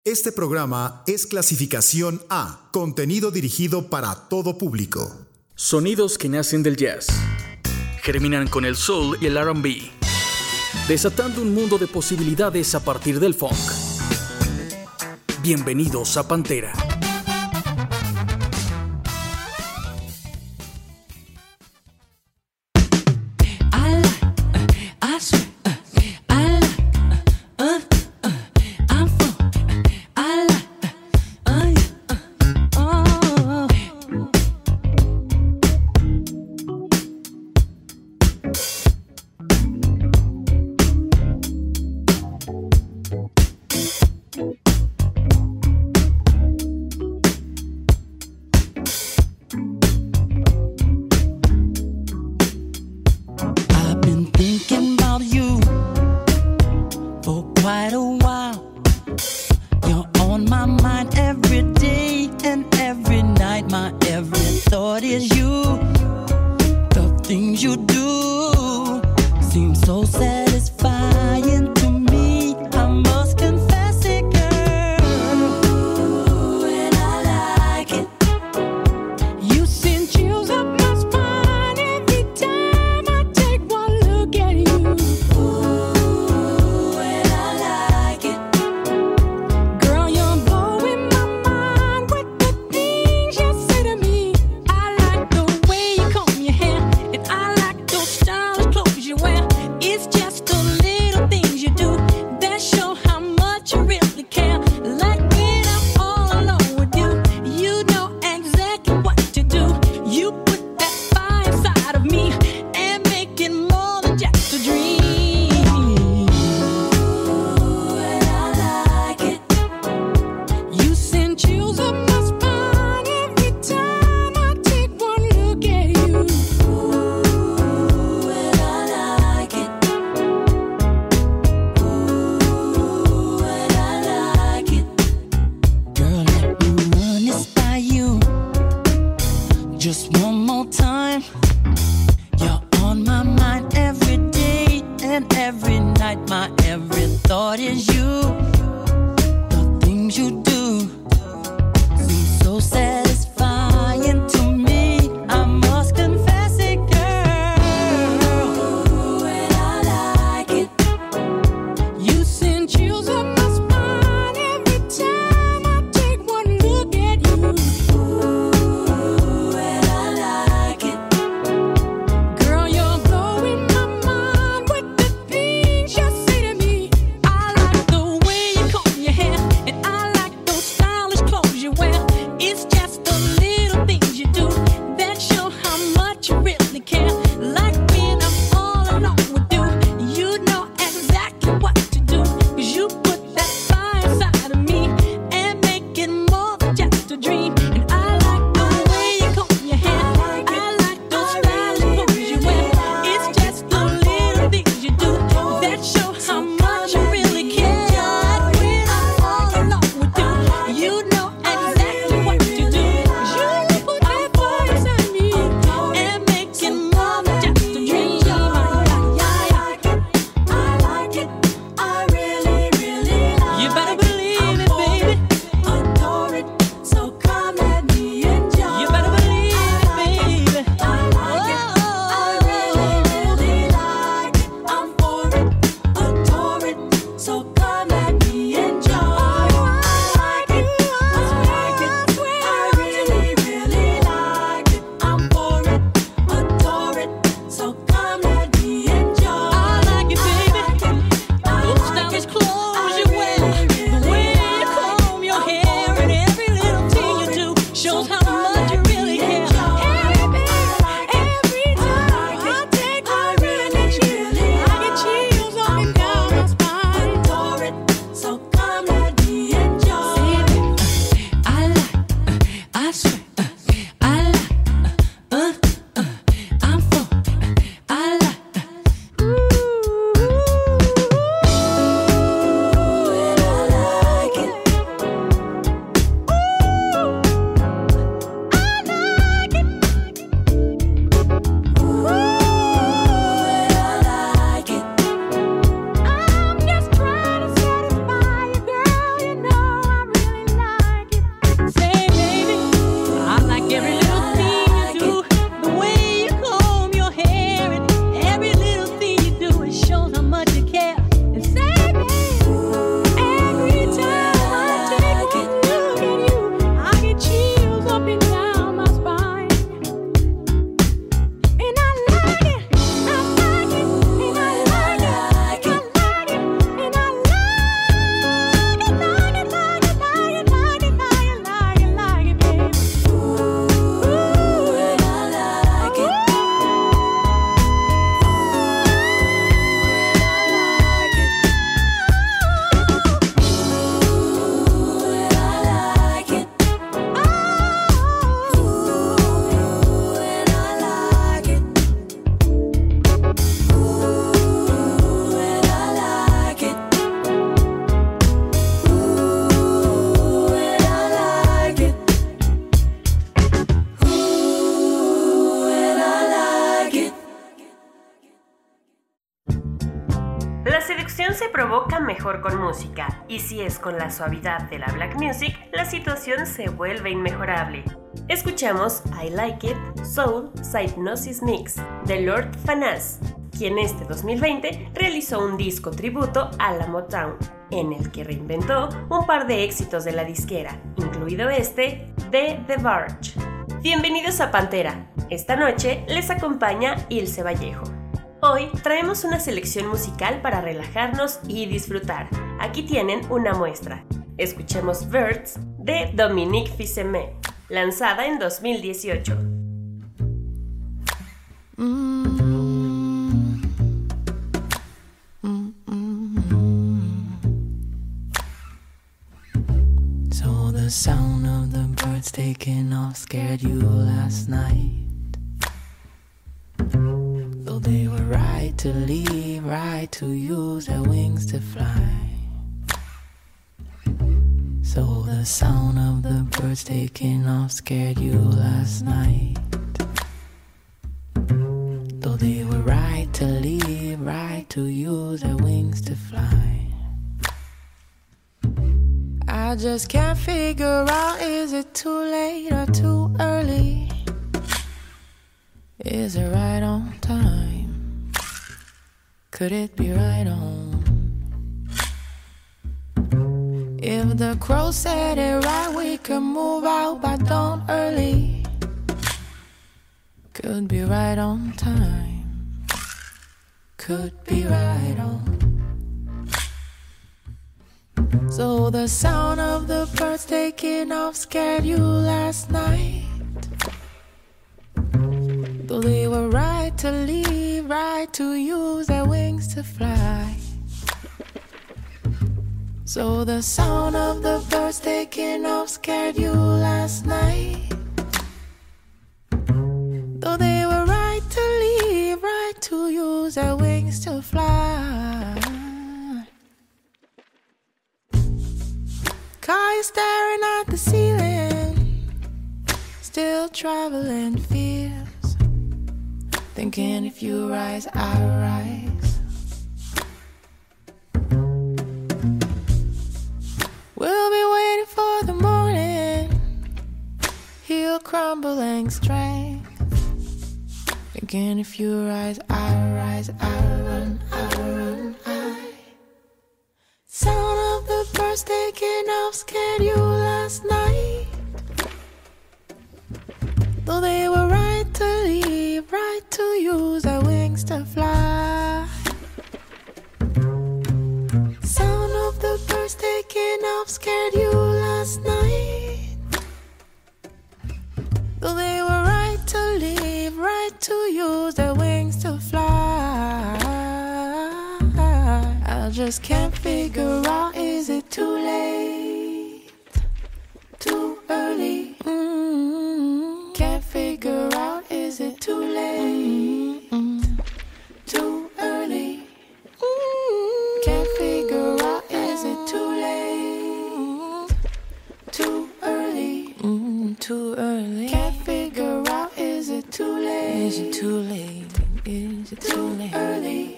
Este programa es clasificación A, contenido dirigido para todo público. Sonidos que nacen del jazz, germinan con el soul y el R&B, desatando un mundo de posibilidades a partir del funk. Bienvenidos a Pantera. Like provoca mejor con música, y si es con la suavidad de la black music, la situación se vuelve inmejorable. Escuchamos I Like It, Soul, Hypnosis Mix, de Lord Fanaz, quien este 2020 realizó un disco tributo a la Motown, en el que reinventó un par de éxitos de la disquera, incluido este de The Verge. Bienvenidos a Pantera. Esta noche les acompaña Ilse Vallejo. Hoy traemos una selección musical para relajarnos y disfrutar. Aquí tienen una muestra. Escuchemos Birds de Dominique Fils-Aimé, lanzada en 2018. So the sound of the birds taking off scared you last night. Though they were right to leave, right to use their wings to fly. So the sound of the birds taking off scared you last night. Though they were right to leave, right to use their wings to fly. I just can't figure out, is it too late or too early? Is it right on time? Could it be right on? If the crow said it right, we could move out by dawn early. Could be right on time. Could be right on. So the sound of the birds taking off scared you last night. Though they were right to leave, right to use their wings to fly. So the sound of the birds taking off scared you last night. Though they were right to leave, right to use their wings to fly. Car you staring at the ceiling, still traveling fears. Thinking if you rise, I rise. We'll be waiting for the morning, he'll crumbling strength. Thinking if you rise, I rise, I run, I run, I. Sound of the birds taking off scared you last night. Though they were right to leave, right to use their wings to fly. Sound of the birds taking off scared you last night. Though they were right to leave, right to use their wings to fly. I just can't figure out, is it too late? Too early? Can't figure out, is it too late? Too early? Can't figure out, is it too late? Too early? Too early? Can't figure out, is it too late? Is it too late? Is it too late? Early?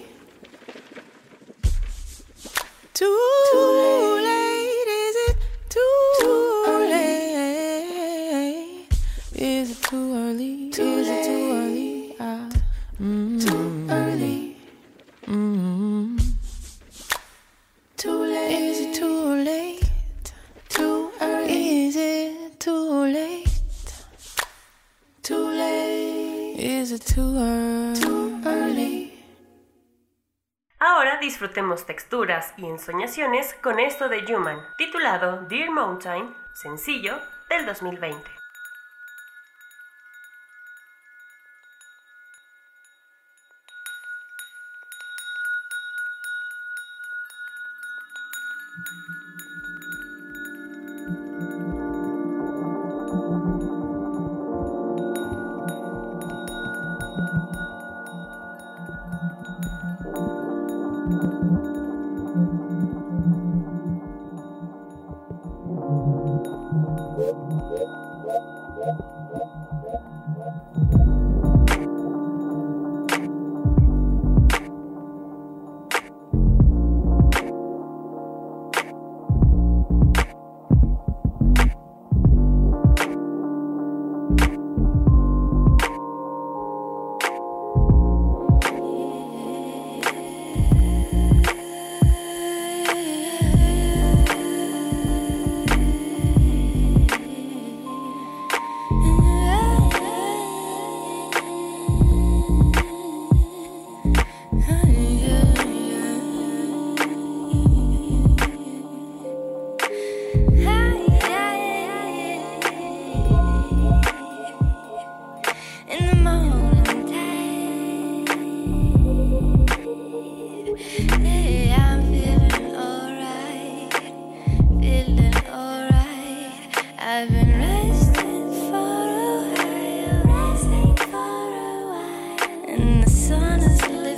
Too late? Is it too late? Is it too early? Is it too early? Too early? Too late? Is it too late? Too early? Is it too late? Too late? Is it too early? Too early? Ahora disfrutemos texturas y ensoñaciones con esto de Human, titulado Dear Mountain, sencillo del 2020. I've been resting for a while, and the sun is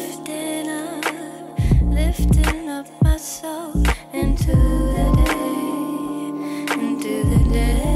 lifting up my soul into the day, into the day.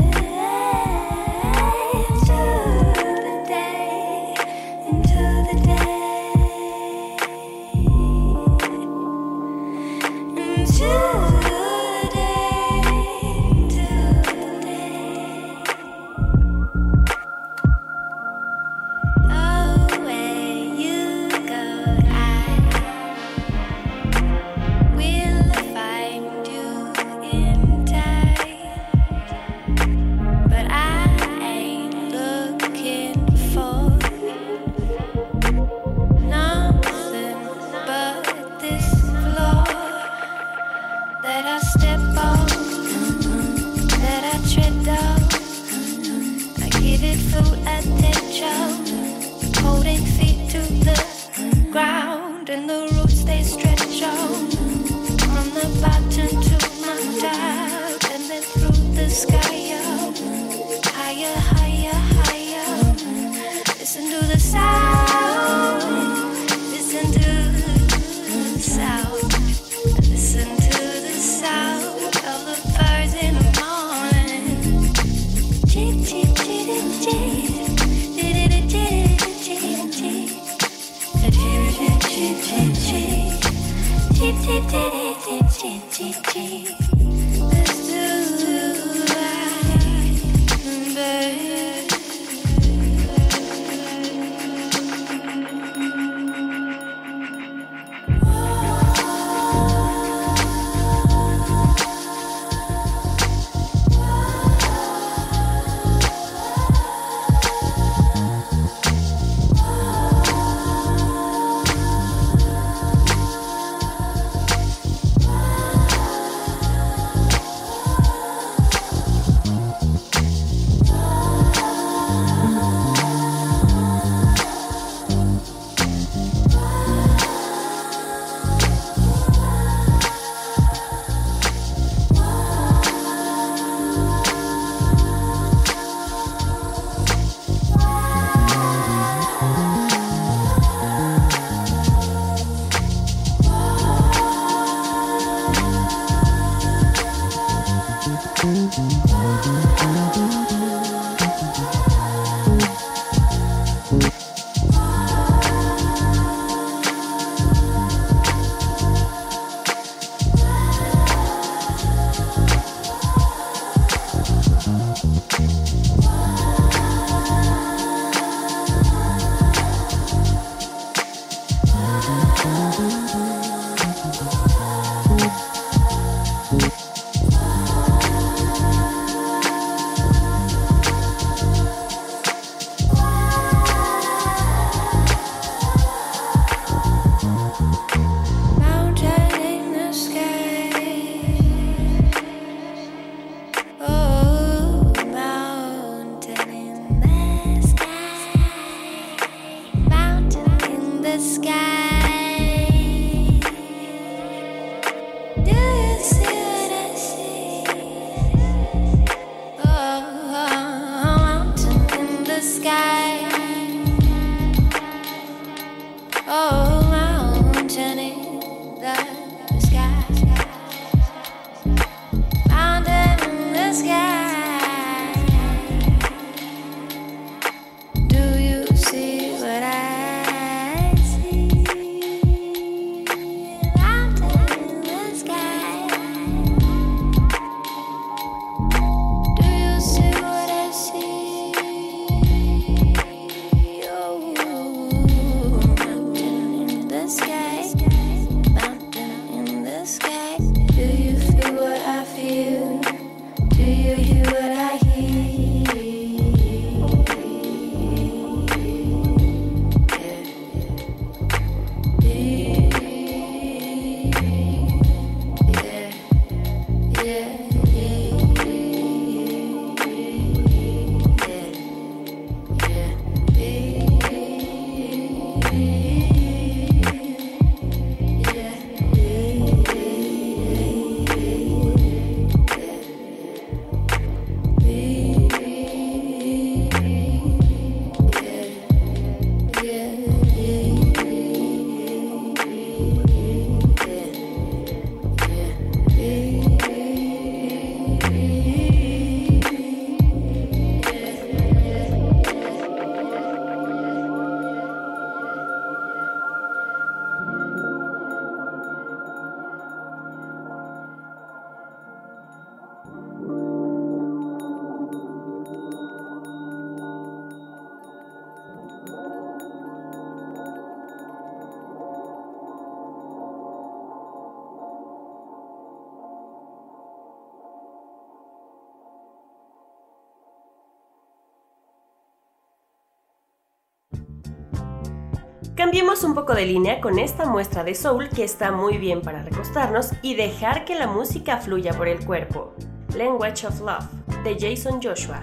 Cambiemos un poco de línea con esta muestra de soul que está muy bien para recostarnos y dejar que la música fluya por el cuerpo. Language of Love, de Jason Joshua.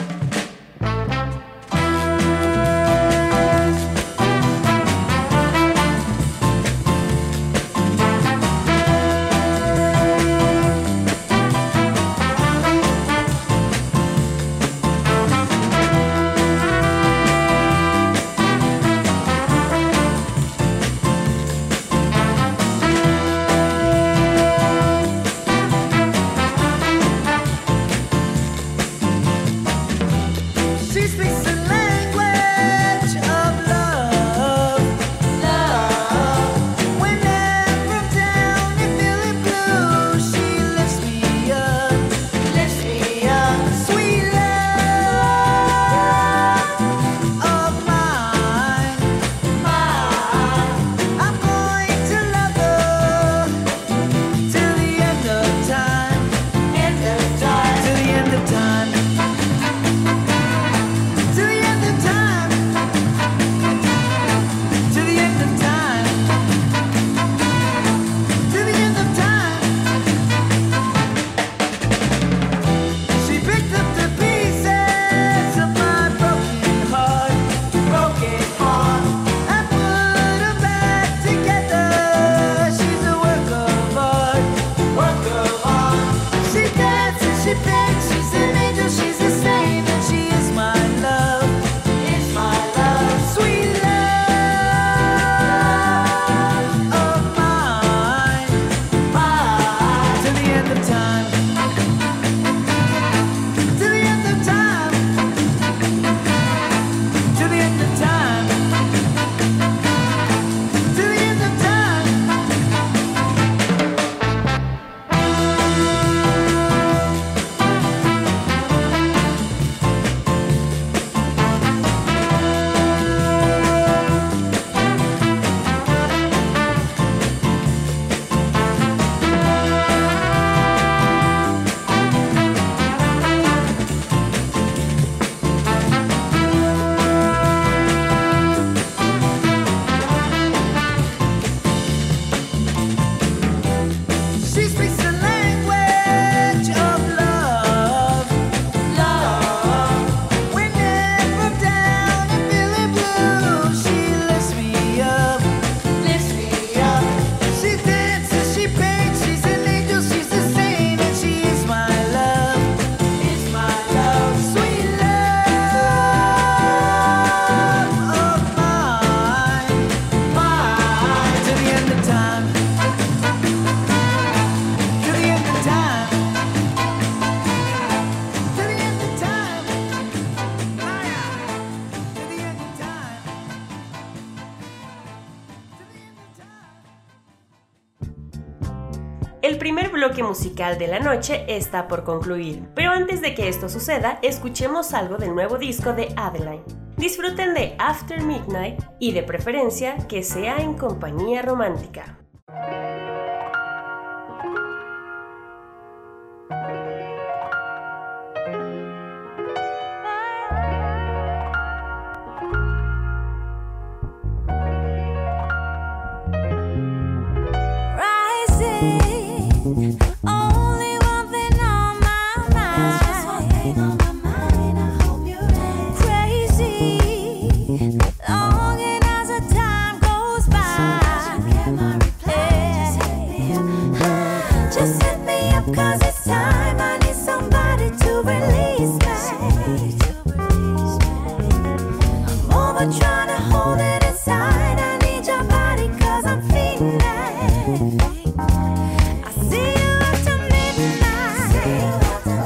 El primer bloque musical de la noche está por concluir, pero antes de que esto suceda, escuchemos algo del nuevo disco de Adeline. Disfruten de After Midnight y de preferencia que sea en compañía romántica. Only one thing on my mind. Just one thing on my mind. I hope you're ready. Crazy, longing as the time goes by. So you get my reply. Just hit me up, 'cause it's time. I need somebody to release me. I'm over trying to hold it inside. I need your body, 'cause I'm feeling. I see you after midnight.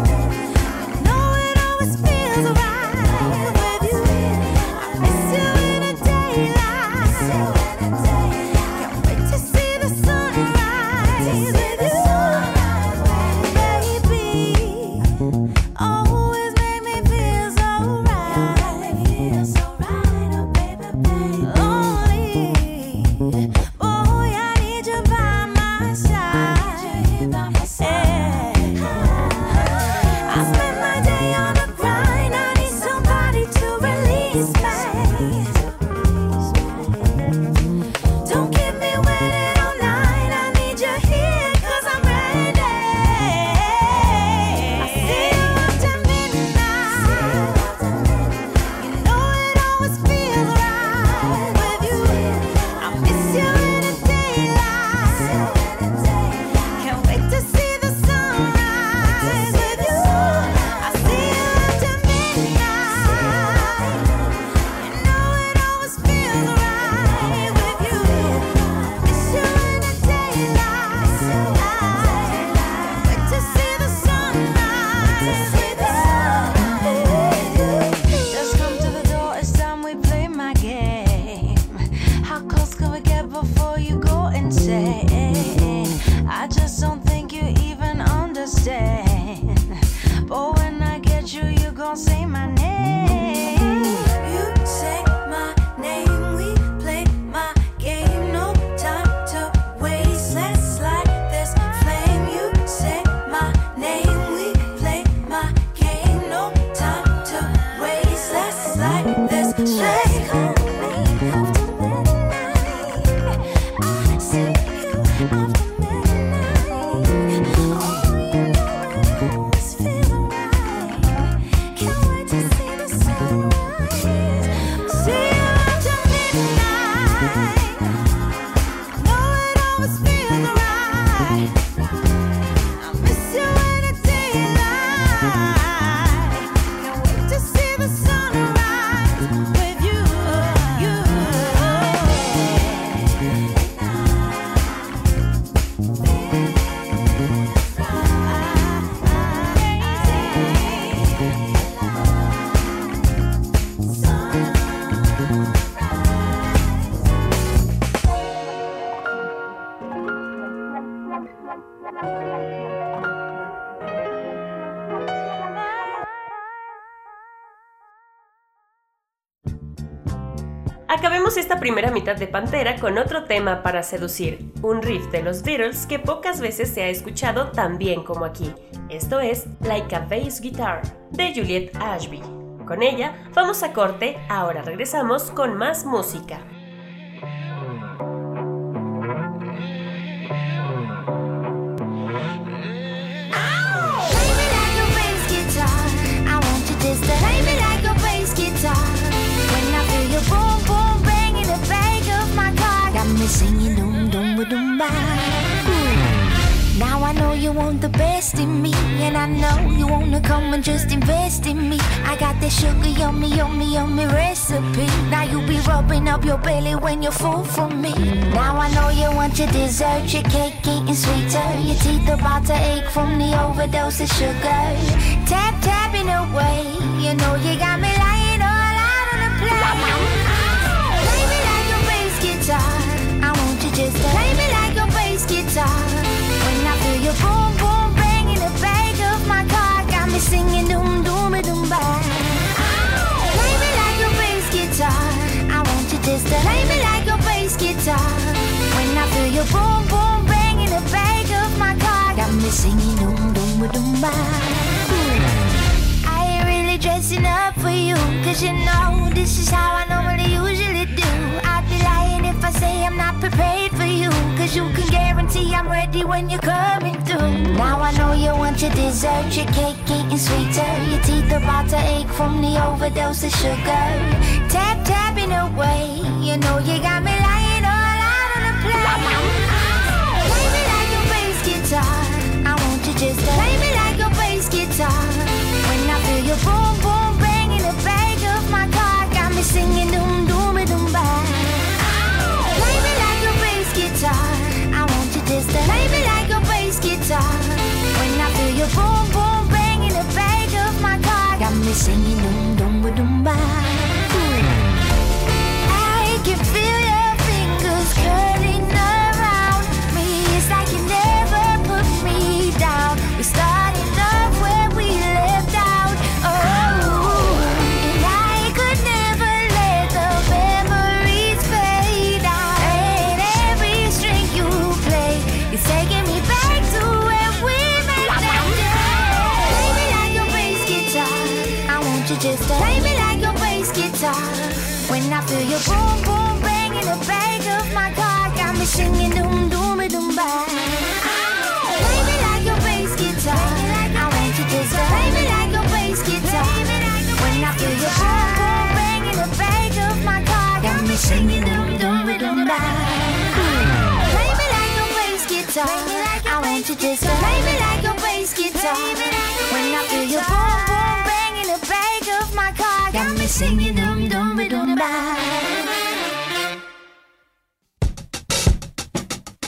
Just come to the door, it's time we play my game. How close can we get before you go insane? I just don't think you even understand. But when I get you, you gon' say my name. You say my name, we play my game. No time to waste, let's light this flame. You say my name, we play my game. No time to waste, let's light this flame. After midnight, I see you after midnight. Oh, you know it's feeling right. Can't wait to see the sunrise. See you after midnight. Know it always feels right. I miss you in the daylight. Can't wait to see the sunrise with you. Acabemos esta primera mitad de Pantera con otro tema para seducir, un riff de los Beatles que pocas veces se ha escuchado tan bien como aquí. Esto es Like a Bass Guitar, de Juliet Ashby. Con ella vamos a corte, ahora regresamos con más música. Singing doom doom ba doom ba. Now I know you want the best in me, and I know you wanna come and just invest in me. I got that sugar yummy yummy yummy recipe. Now you be rubbing up your belly when you're full from me. Now I know you want your dessert, your cake getting sweeter. Your teeth about to ache from the overdose of sugar. Tap tapping away, you know you got me lying all out on the plate. Play me like a bass guitar. Just play me like a bass guitar. When I feel your boom boom bang in the back of my car, got me singing doom doom doom ba. Play me like a bass guitar. I want you just to play me like a bass guitar. When I feel your boom boom bang in the back of my car, got me singing doom doom doom ba. I ain't really dressing up for you, 'cause you know this is how I normally usually do. I'd be lying if I say I'm not prepared for you, 'cause you can guarantee I'm ready when you're coming through. Now I know you want your dessert, your cake getting sweeter. Your teeth about to ache from the overdose of sugar. Tap tapping away, you know you got me lying all out on the plate. Play me like a bass guitar. I want you just to play me like a bass guitar. When I feel your boom boom bang in the back of my car, got me singing doom doom doom ba. Play me like a bass guitar. I want you just to play me like a bass guitar. When I feel your boom boom bang in the back of my car, got me singing doom doom doom ba. I can feel your fingers curling around me. It's like you never put me down. We started off where we left out. Oh, and I could never let the memories fade out. And every string you play is taking me back to where we met that day. Play me like a bass guitar. I want you just to play me like a bass guitar. When I feel your boom boom bang in the back of my car, got me singing doom doom doom ba. Play me like a bass guitar. I want you just to play me like a bass guitar. When I feel your boom boom bang in the back of my car, got me singing doom doom doom ba. Play me like a bass guitar. I want you just to play me like a bass guitar. When I feel your boom boom bang in the back of my car, got me singing doom doom doom ba.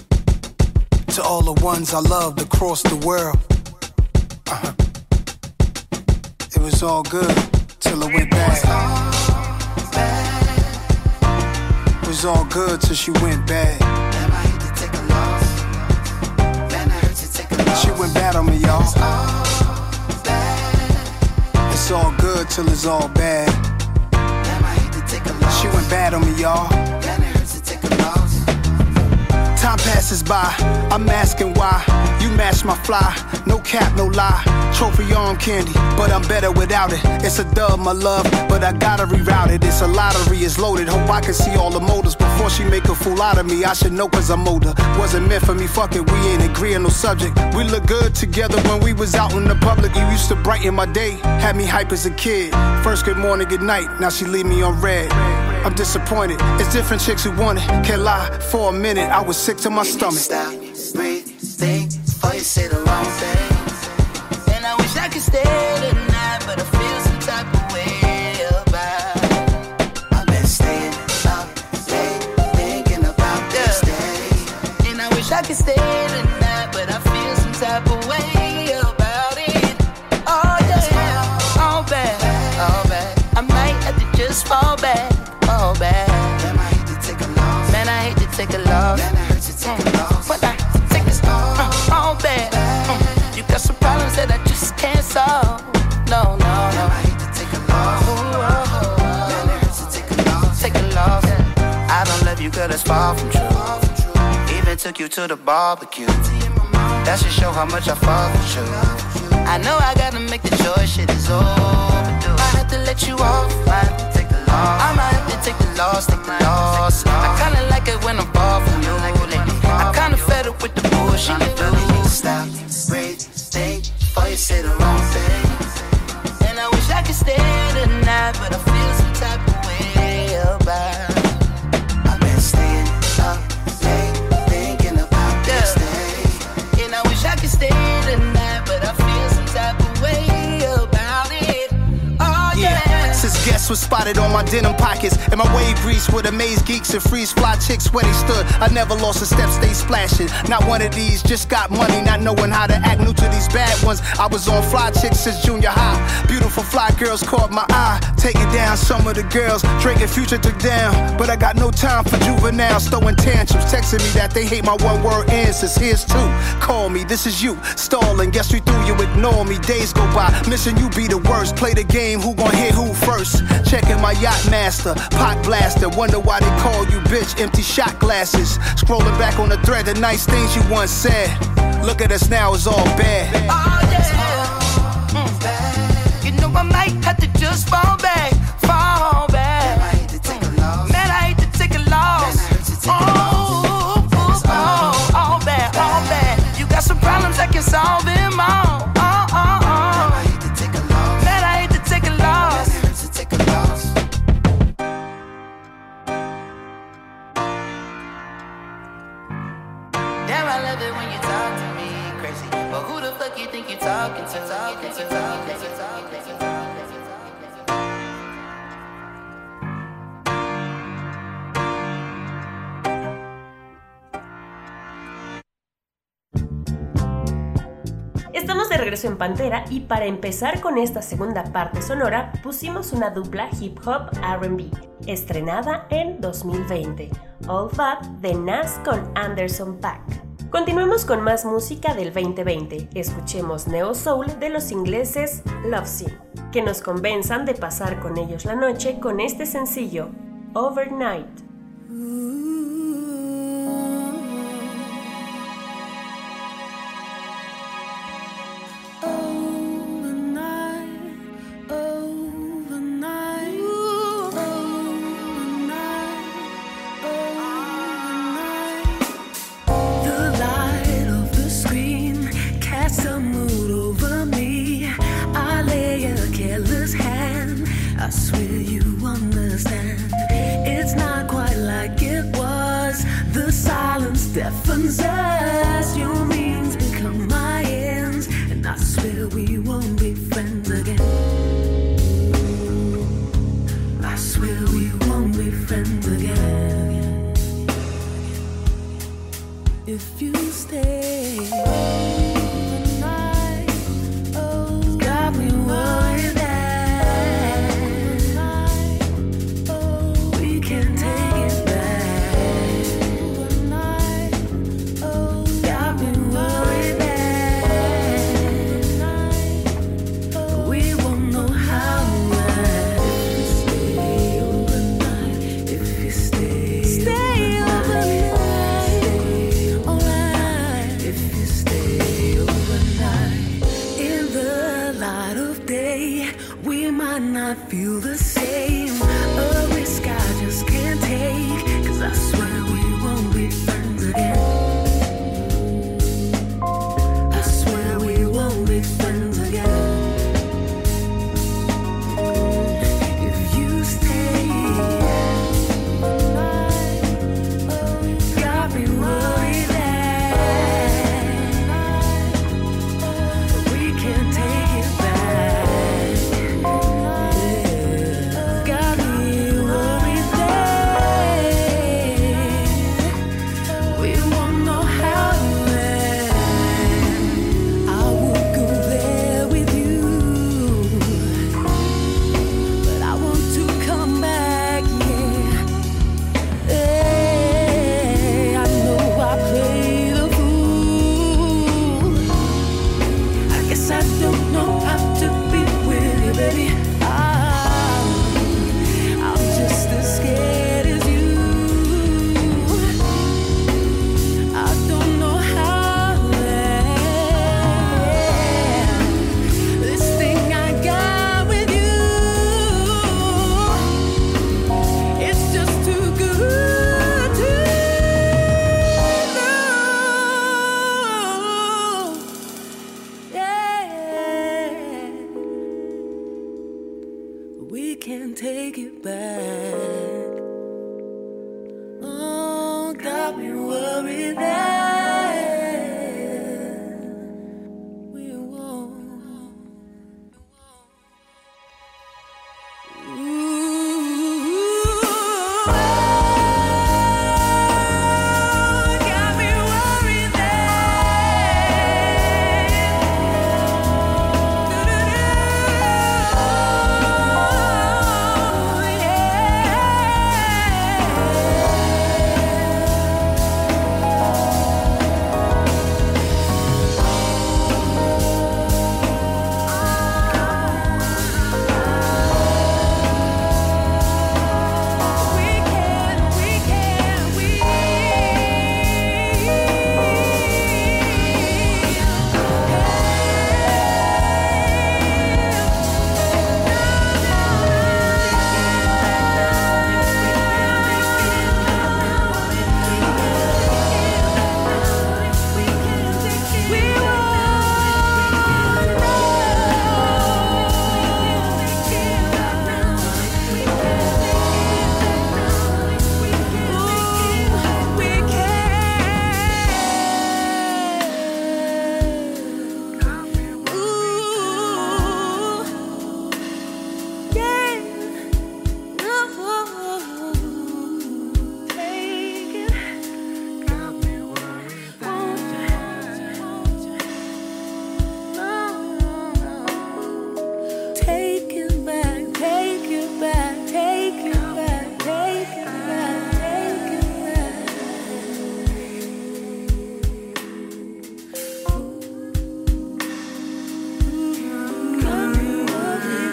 To all the ones I loved across the world. was all good till it went bad. It was all good till she went bad. She went bad on me, y'all. It's all good till it's all bad. She went bad on me, y'all. Time passes by, I'm asking why. You match my fly, no cap, no lie. Trophy arm candy, but I'm better without it. It's a dub, my love, but I gotta reroute it. It's a lottery, it's loaded. Hope I can see all the motives before she make a fool out of me. I should know cause I'm older. Wasn't meant for me, fuck it, we ain't agree on no subject. We look good together when we was out in the public. You used to brighten my day, had me hype as a kid. First good morning, good night, now she leave me on red. I'm disappointed, it's different chicks who want it. Can't lie, for a minute, I was sick to my stomach. Stop, breathe, think, before you say the wrong thing. And I wish I could stay tonight, but I feel some type of way about it. I've been staying up late, thinking about this day. And I wish I could stay tonight, but I feel some type of way about it. Oh yeah, all bad, all bad. I might have to just fall back. Oh bad. Man, I hate to take a loss. Man, I hate to take a loss. Man, I hurt to take a loss. But I hate to take this all bad. You got some problems that I just can't solve. No, no, no. Man, I hate to take a loss. Man, it hurts to take a loss. Take a loss. I don't love you, girl, that's far from true. Even took you to the barbecue. That should show how much I fuck with you. I know I gotta make the choice, shit is overdue. I have to let you off. I have to take the loss. I might have to take the loss, take the loss. I kinda like it when I'm far from you lately. I kinda fed up with the bullshit you do. Stop, breathe, think, before you say the wrong thing. And I wish I could stay tonight, but I feel some type of way about it. I've been staying up late, thinking about this day. And I wish I could stay tonight, but I feel some type of way about it. Oh yeah. Since guests was spotted on my denim pockets and my wave grease would amaze geeks and freeze fly chicks where they stood. I never lost a step, stay splashing. Not one of these, just got money, not knowing how to act. New to these bad ones. I was on fly chicks since junior high. Beautiful fly girls caught my eye. Taking down some of the girls Drake and Future took down. But I got no time for juveniles throwing tantrums, texting me that they hate my one word answers. Here's two. Call me, this is you. Stalling, guess we through, you ignore me. Days go by, missing you be the worst. Play the game, who gon' hit who first? Checking my yacht master, pot blaster. Wonder why they call you bitch, empty shot glasses. Scrolling back on the thread, the nice things you once said. Look at us now, it's all bad. Oh yeah. You know I might have to just fall back, fall back. Man, I hate to take a loss. Man, I hate to take a loss. Man, I hurt to take a loss. All bad, all bad. You got some problems, I can solve them all. Man, I hate to take a loss. Man, I hate to take a loss. Man, it hurts to take a loss. Damn, I love it when you talk to me crazy. But who the fuck you think you talking to? Estamos de regreso en Pantera y para empezar con esta segunda parte sonora pusimos una dupla hip hop R&B estrenada en 2020, All Fat de Nas con Anderson .Paak. Continuemos con más música del 2020, escuchemos Neo Soul de los ingleses Love Scene, que nos convenzan de pasar con ellos la noche con este sencillo, Overnight. I swear you understand. It's not quite like it was. The silence deafens us. Your means become my ends, and I swear we won't be friends again. I swear we won't be friends again. If you stay overnight, oh, got me worried that baby, we might not feel the same. A risk I just can't take, 'cause I swear we won't be friends again. I swear we won't be friends again. If you stay, got me worried that we can't take it back. Got me worried that we won't know how to end. I would go there with you, but I want to come back, yeah. I know I play the fool. I guess I don't know how to be with you, baby. I'm just as scared as you. I don't know how to end this thing I got with you. It's just too good to lose. Yeah. We can't take it back. Oh, got me worried that we won't. Got me worried Take it back, take it back, take it back, take it back, take it back. Got me worried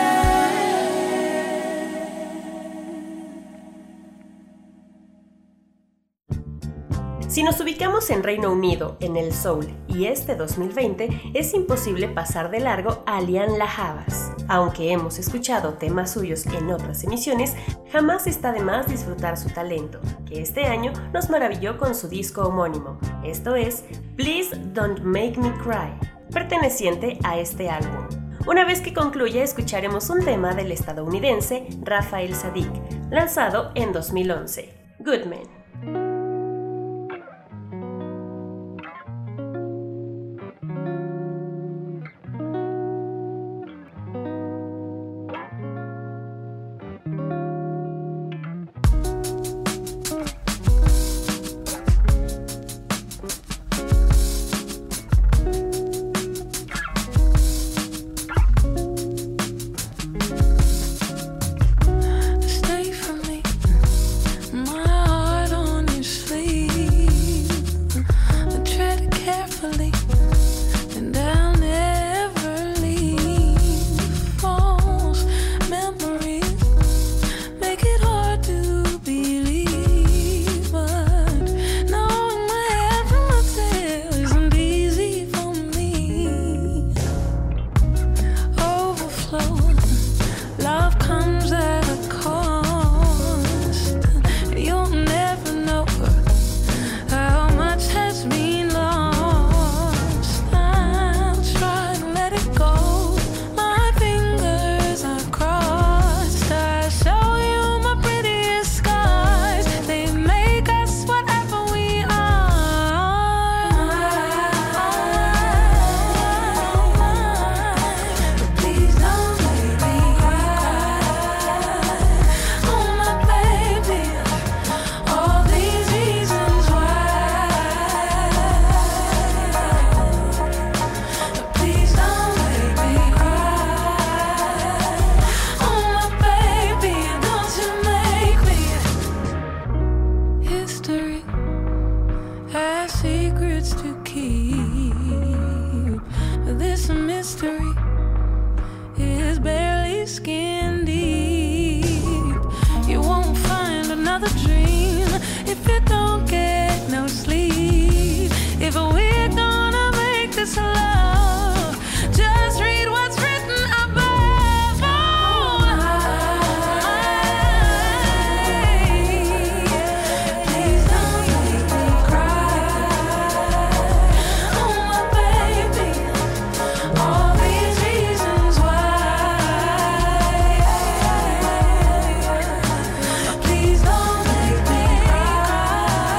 Si nos ubicamos en Reino Unido, en el soul y este 2020, es imposible pasar de largo a Lianne La Havas. Aunque hemos escuchado temas suyos en otras emisiones, jamás está de más disfrutar su talento, que este año nos maravilló con su disco homónimo, esto es Please Don't Make Me Cry, perteneciente a este álbum. Una vez que concluya, escucharemos un tema del estadounidense Raphael Saadiq, lanzado en 2011, Good Man. stay for me. My heart Love comes at a cost. You'll never know how much has been lost. I'll try to let it go. My fingers are crossed. I show you my prettiest scars. They make us whatever we are. But please don't make me cry. Oh my baby, all these reasons why. But please don't make me cry. Oh my baby, don't you make me. History has secrets to keep. This mystery is barely skin deep. You won't find another dream if you don't get no sleep. If we're gonna make this love, just read what's written above. Oh, please don't make me cry. Oh my baby, all these reasons why. Please don't make me cry.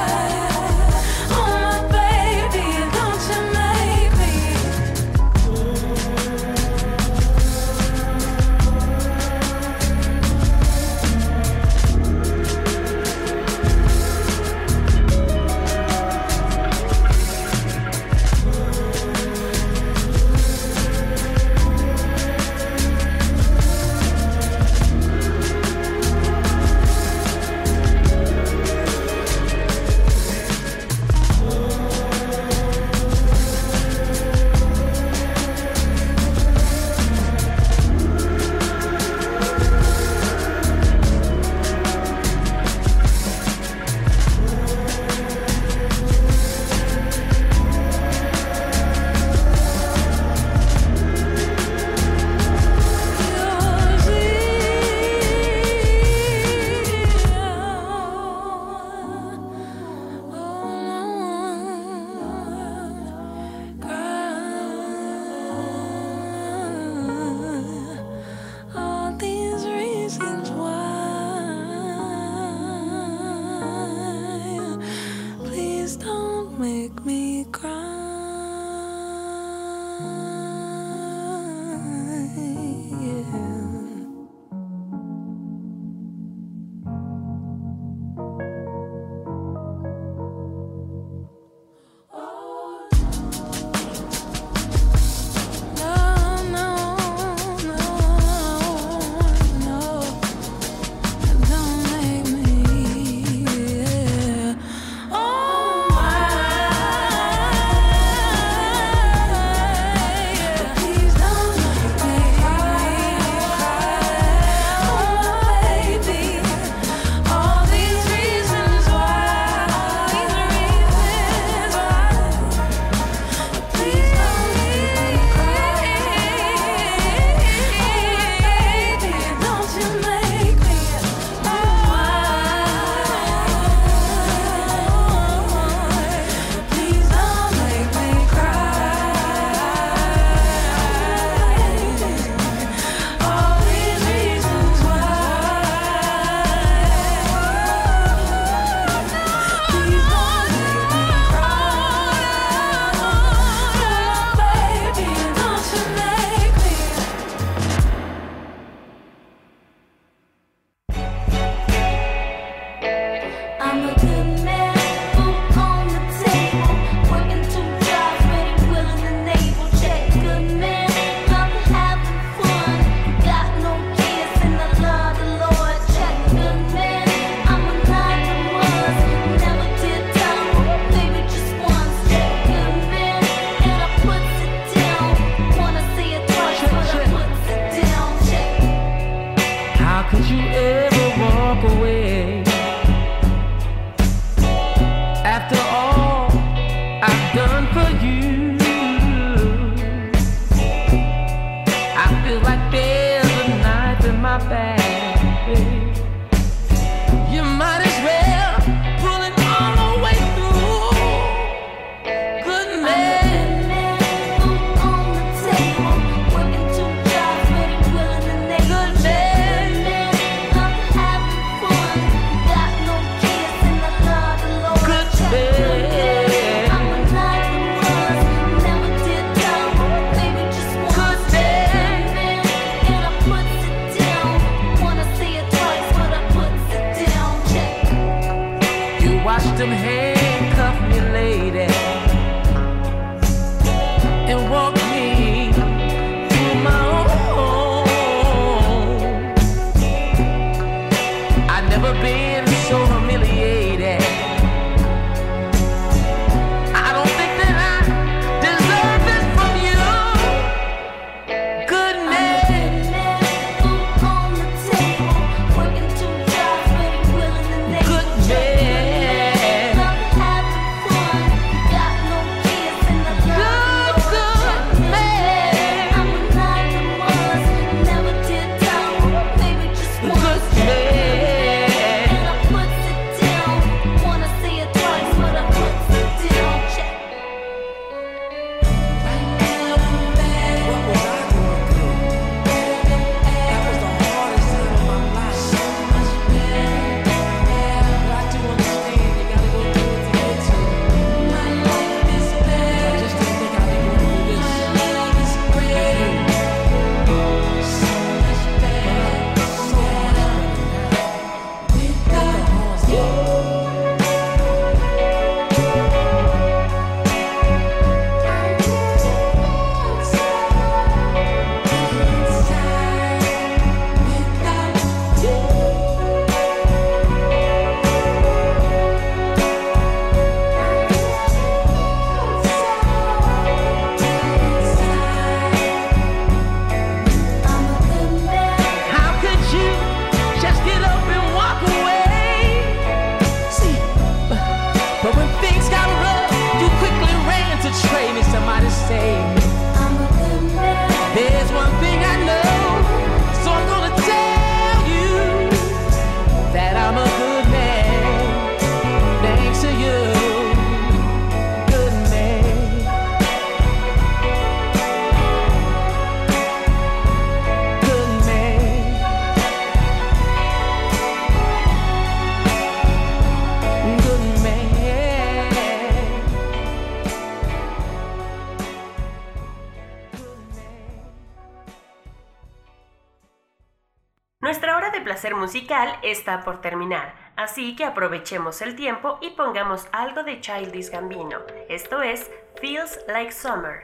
Nuestra hora de placer musical está por terminar, así que aprovechemos el tiempo y pongamos algo de Childish Gambino. Esto es Feels Like Summer.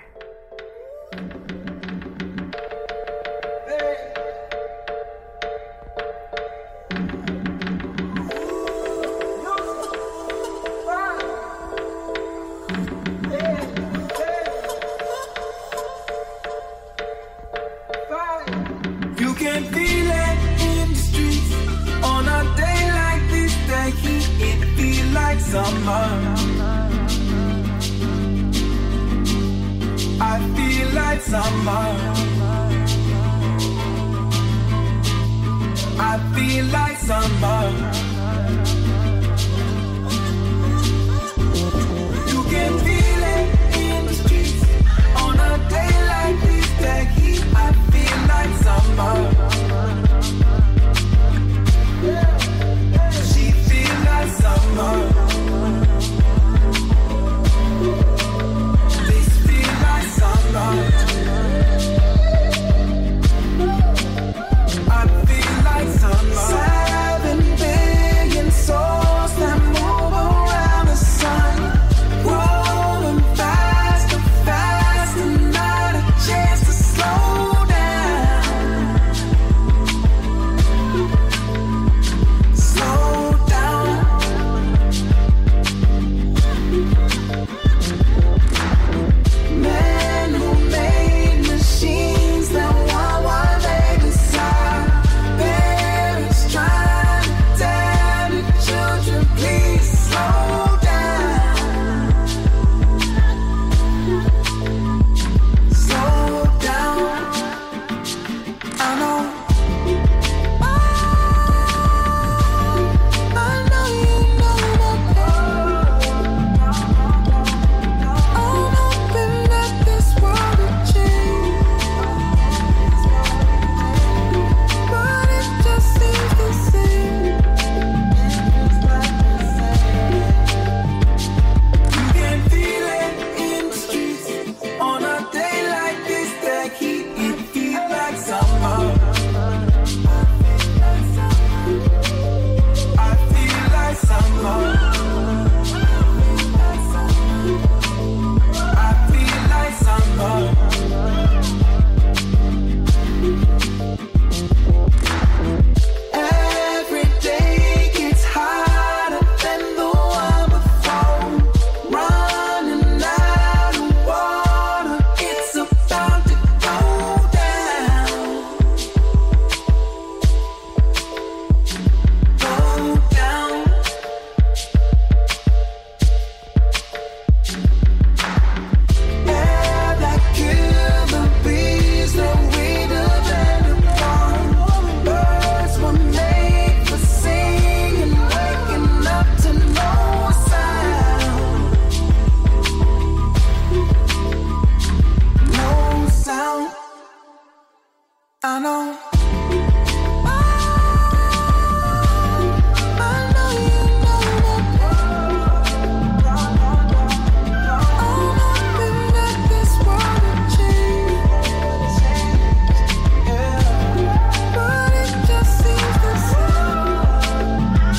You can feel it in the streets on a day like this. The heat, it feel like summer. I feel like summer. I feel like summer. You can feel it in the streets on a day like this. The heat, I feel like summer. She feel like summer. This feel like summer. I feel like summer. 7 billion souls that move around the sun, growing faster, faster, not a chance to slow down. Slow down. Men who made machines that want what they desire. Parents trying to tell the children, please slow down. Slow down. I know. I know you know that. I'm hoping that this world will change, but it just seems the same. You can feel it in the streets on a day like this. The heat, it feels like summer. I feel like summer. I feel like summer. Every day gets hotter than the one before. Running out of water, it's about to go down. Go down. Air that kill the bees that we depend upon. Birds were made for singing, waking up to no sound. No sound. I know. I know you know that. I'm hoping that this world will change, but it just seems the same.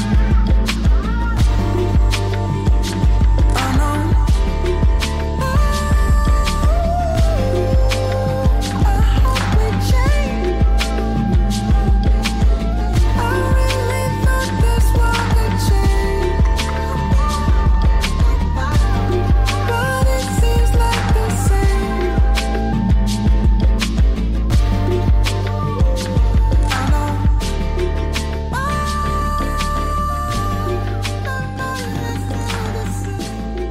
I know. I hope we change. I really thought this world would change, but it seems like the same. I know. It's still the same.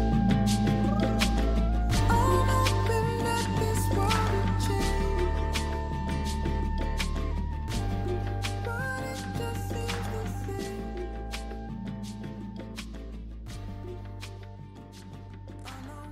I'm hoping that this world will change, but it just seems the same. I know.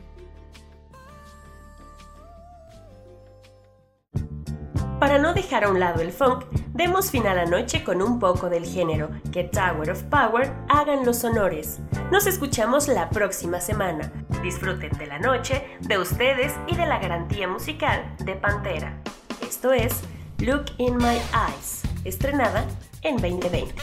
Para no dejar a un lado el funk, demos final anoche con un poco del género. Que Tower of Power hagan los honores. Nos escuchamos la próxima semana. Disfruten de la noche, de ustedes y de la garantía musical de Pantera. Esto es Look in My Eyes, estrenada en 2020.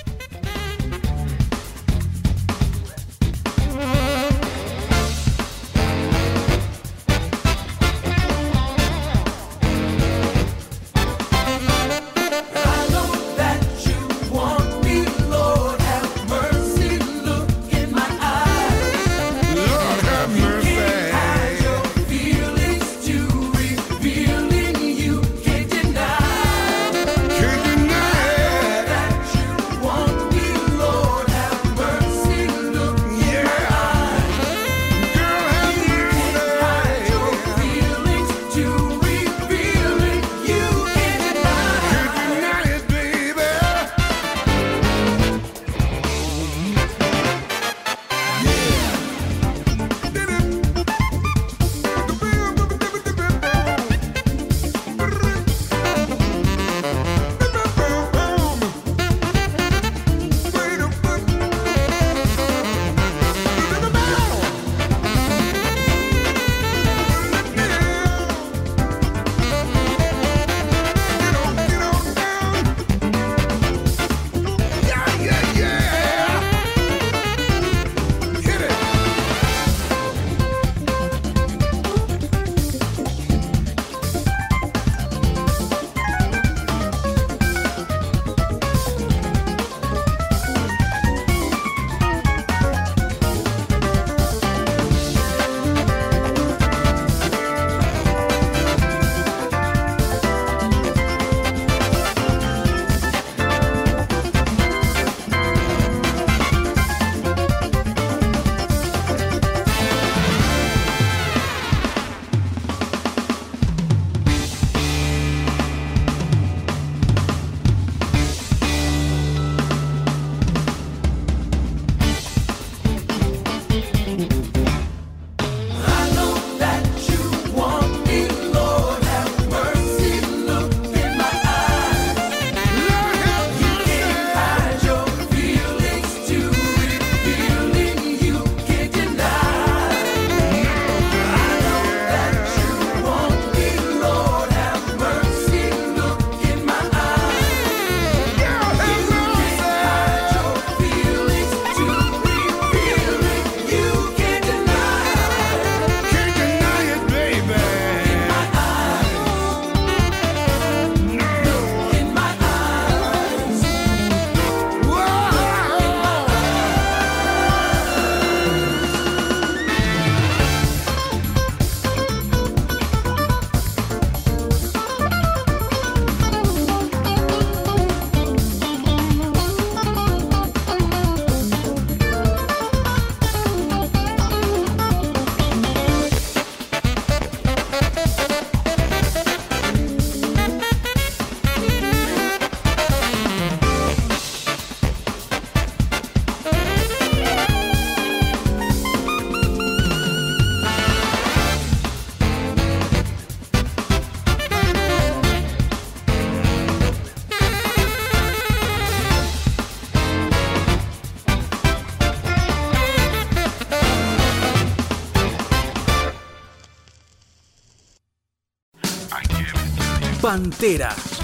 Pantera,